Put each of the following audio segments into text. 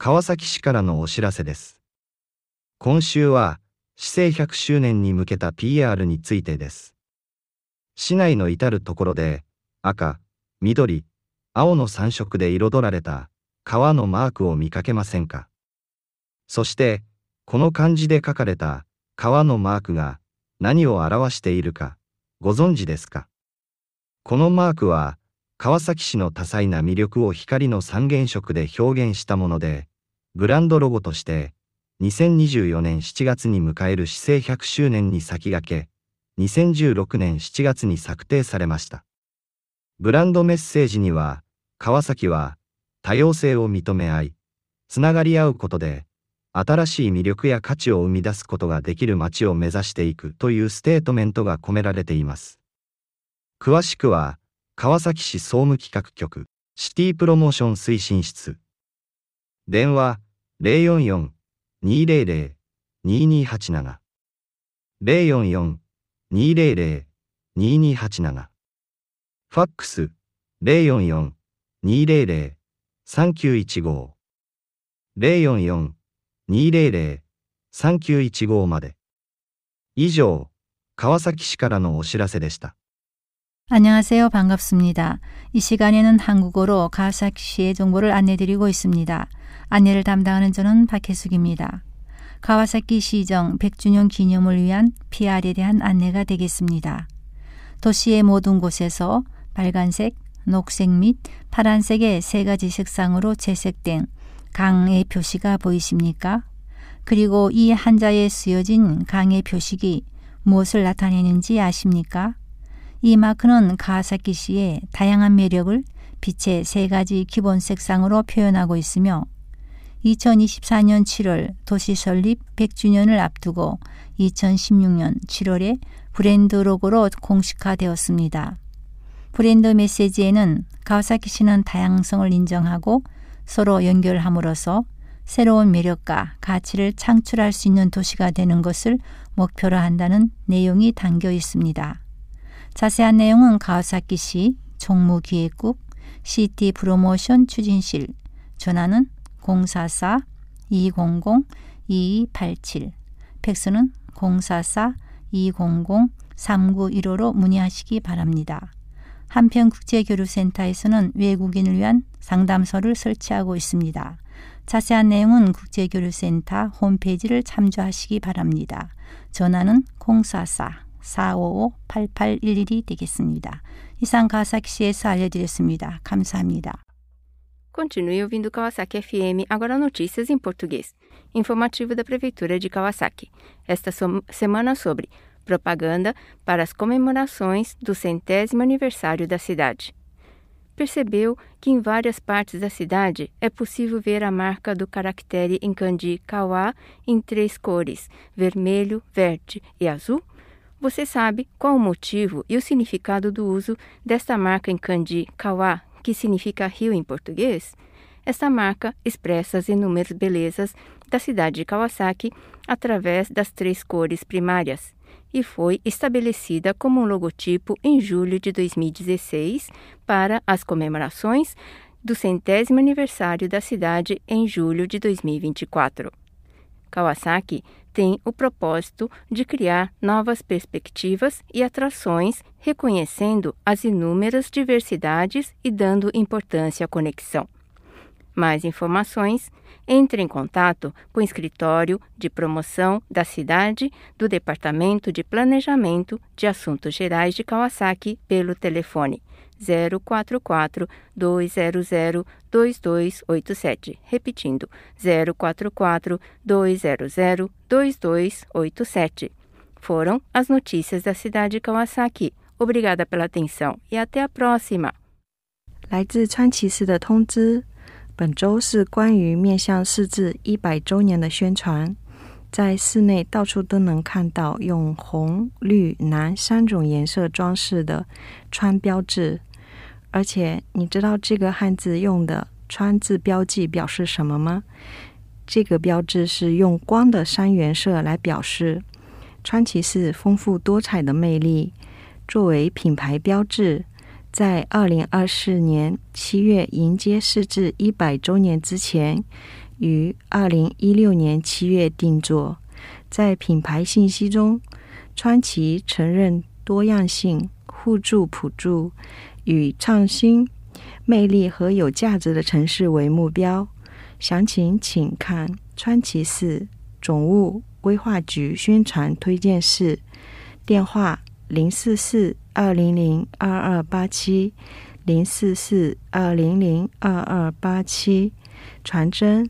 川崎市からのお知らせです。今週は、市政100周年に向けた PR についてです。市内の至るところで、赤、緑、青の3色で彩られた川のマークを見かけませんか？そして、この漢字で書かれた川のマークが何を表しているかご存知ですか？このマークは川崎市の多彩な魅力を光の三原色で表現したもので、ブランドロゴとして2024年7月に迎える市政100周年に先駆け、2016年7月に策定されました。ブランドメッセージには、川崎は多様性を認め合い、つながり合うことで、新しい魅力や価値を生み出すことができる街を目指していくというステートメントが込められています。詳しくは、川崎市総務企画局、シティプロモーション推進室。電話、044-200-2287。044-200-2287。ファックス、044-200-3915。044-200-3915まで。以上、川崎市からのお知らせでした。 안녕하세요. 반갑습니다. 이 시간에는 한국어로 가와사키시의 정보를 안내드리고 있습니다. 안내를 담당하는 저는 박혜숙입니다. 가와사키 시정 100주년 기념을 위한 PR에 대한 안내가 되겠습니다. 도시의 모든 곳에서 빨간색, 녹색 및 파란색의 세 가지 색상으로 채색된 강의 표시가 보이십니까? 그리고 이 한자에 쓰여진 강의 표식이 무엇을 나타내는지 아십니까? 이 마크는 가와사키시의 다양한 매력을 빛의 세 가지 기본 색상으로 표현하고 있으며 2024년 7월 도시 설립 100주년을 앞두고 2016년 7월에 브랜드 로고로 공식화되었습니다. 브랜드 메시지에는 가와사키시는 다양성을 인정하고 서로 연결함으로써 새로운 매력과 가치를 창출할 수 있는 도시가 되는 것을 목표로 한다는 내용이 담겨 있습니다. 자세한 내용은 가와사키시 총무기획국 시티 프로모션 추진실, 전화는 044-200-2287, 팩스는 044-200-3915로 문의하시기 바랍니다. 한편 국제교류센터에서는 외국인을 위한 상담소를 설치하고 있습니다. 자세한 내용은 국제교류센터 홈페이지를 참조하시기 바랍니다. 전화는 044-455-8811이 되겠습니다. 이상 가와사키시에서 알려드렸습니다. 감사합니다. Continue ouvindo Kawasaki FM, agora notícias em português. Informativo da Prefeitura de Kawasaki. Esta semana sobre propaganda para as comemorações do 100º aniversário da cidade. Percebeu que em várias partes da cidade é possível ver a marca do caractere em kanji kawa em 3 cores, vermelho, verde e azul? Você sabe qual o motivo e o significado do uso desta marca em kanji kawa, que significa rio em português? Esta marca expressa as inúmeras belezas da cidade de Kawasaki através das 3 cores primárias e foi estabelecida como um logotipo em julho de 2016 para as comemorações do 100º aniversário da cidade em julho de 2024. Kawasaki tem o propósito de criar novas perspectivas e atrações, reconhecendo as inúmeras diversidades e dando importância à conexão. Mais informações, entre em contato com o Escritório de Promoção da Cidade do Departamento de Planejamento de Assuntos Gerais de Kawasaki pelo telefone 044-200-2287, repetindo 044-200-2287. Foram as notícias da cidade de Kawasaki. Obrigada pela atenção e até a próxima. 来自川崎市的通知，本周是关于面向市治100周年的宣传。在市内到处都能看到用红、绿、蓝3种颜色装饰的川标志。而且你知道这个汉字用的川字标记表示什么吗？这个标志是用光的3原色来表示川崎市丰富多彩的魅力。作为品牌标志，在2024年7月迎接市治100周年之前， 于2016年7月定作。在品牌信息中，川崎承认多样性、互助普助与创新、魅力和有价值的城市为目标。详情请看川崎市总务规划局宣传推荐室，电话044-200-2287 044-200-2287，传真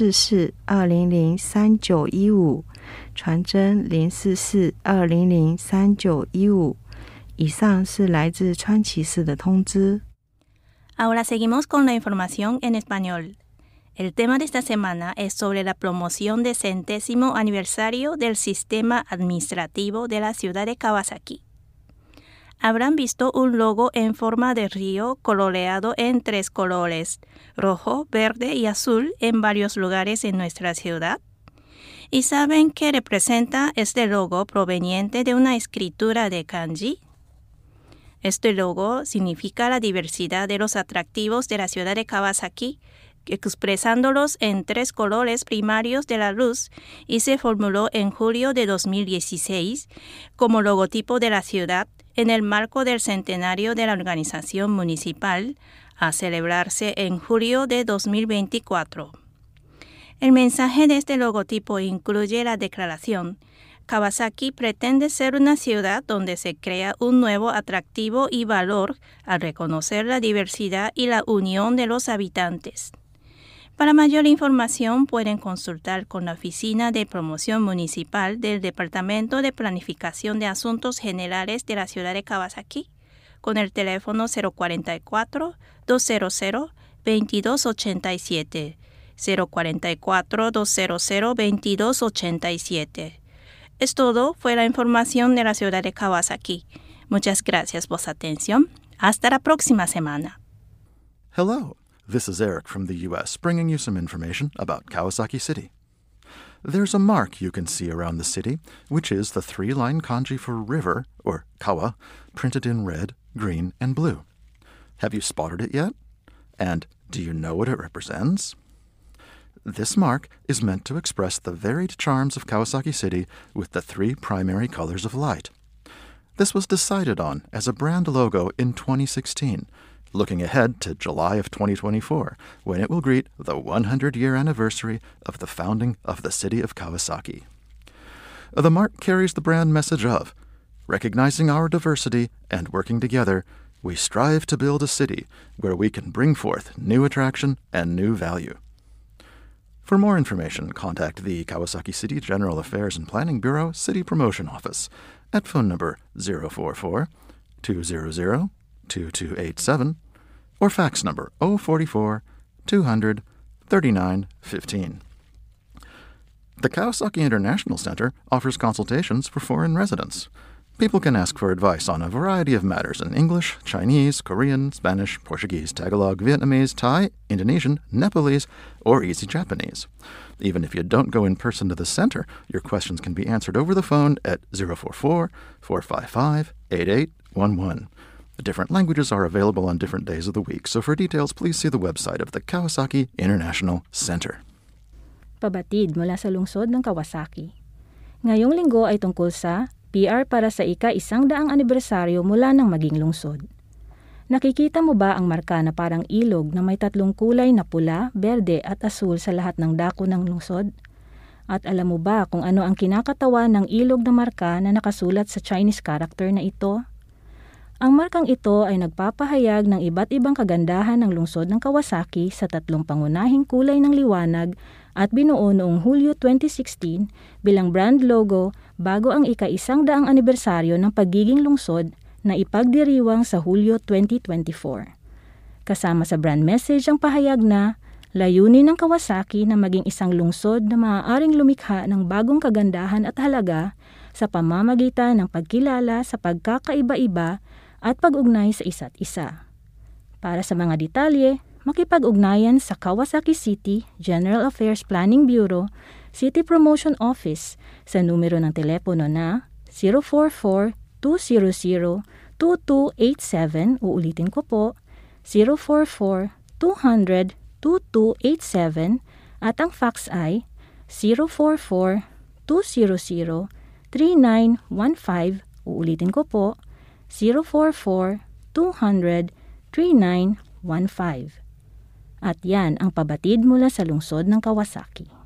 044-200-3915，传真044-200-3915。以上是来自川崎市的通知。 Ahora seguimos con la información en español. El tema de esta semana es sobre la promoción del 100º aniversario del sistema administrativo de la ciudad de Kawasaki. Habrán visto un logo en forma de río coloreado en 3 colores, rojo, verde y azul, en varios lugares en nuestra ciudad. ¿Y saben qué representa este logo proveniente de una escritura de kanji? Este logo significa la diversidad de los atractivos de la ciudad de Kawasaki, expresándolos en 3 colores primarios de la luz, y se formuló en julio de 2016 como logotipo de la ciudad en el marco del centenario de la organización municipal, a celebrarse en julio de 2024. El mensaje de este logotipo incluye la declaración: Kawasaki pretende ser una ciudad donde se crea un nuevo atractivo y valor al reconocer la diversidad y la unión de los habitantes. Para mayor información pueden consultar con la Oficina de Promoción Municipal del Departamento de Planificación de Asuntos Generales de la ciudad de Kawasaki con el teléfono 044-200-2287, 044-200-2287. Es todo, fue la información de la ciudad de Kawasaki. Muchas gracias por su atención. Hasta la próxima semana. Hello, this is Eric from the U.S. bringing you some information about Kawasaki City. There's a mark you can see around the city, which is the 3-line kanji for river, or kawa, printed in red, green, and blue. Have you spotted it yet? And do you know what it represents? This mark is meant to express the varied charms of Kawasaki City with the 3 primary colors of light. This was decided on as a brand logo in 2016, looking ahead to July of 2024, when it will greet the 100-year anniversary of the founding of the city of Kawasaki. The mark carries the brand message of, recognizing our diversity and working together, we strive to build a city where we can bring forth new attraction and new value. For more information, contact the Kawasaki City General Affairs and Planning Bureau City Promotion Office at phone number 044-200-2287 or fax number 044-200-3915. The Kawasaki International Center offers consultations for foreign residents. People can ask for advice on a variety of matters in English, Chinese, Korean, Spanish, Portuguese, Tagalog, Vietnamese, Thai, Indonesian, Nepalese, or Easy Japanese. Even if you don't go in person to the center, your questions can be answered over the phone at 044-455-8811. The different languages are available on different days of the week, so for details, please see the website of the Kawasaki International Center. Pabatid mula sa lungsod ng Kawasaki. Ngayong linggo ay tungkol sa PR para sa ika-100 anibersaryo mula ng maging lungsod. Nakikita mo ba ang marka na parang ilog na may 3 kulay na pula, berde at asul sa lahat ng dako ng lungsod? At alam mo ba kung ano ang kinakatawan ng ilog na marka na nakasulat sa Chinese character na ito? Ang markang ito ay nagpapahayag ng iba't ibang kagandahan ng lungsod ng Kawasaki sa 3 pangunahing kulay ng liwanag at binuo noong Hulyo 2016 bilang brand logo bago ang ika-100 anibersaryo ng pagiging lungsod na ipagdiriwang sa Hulyo 2024. Kasama sa brand message ang pahayag na layunin ng Kawasaki na maging isang lungsod na maaaring lumikha ng bagong kagandahan at halaga sa pamamagitan ng pagkilala sa pagkakaiba-iba at pag-ugnay sa isa't isa. Para sa mga detalye, makipag-ugnayan sa Kawasaki City General Affairs Planning Bureau City Promotion Office sa numero ng telepono na 044-200-2287, uulitin ko po, 044-200-2287, At ang fax ay 044-200-3915. Uulitin ko po, 044-200-3915. At yan ang pabatid mula sa lungsod ng Kawasaki.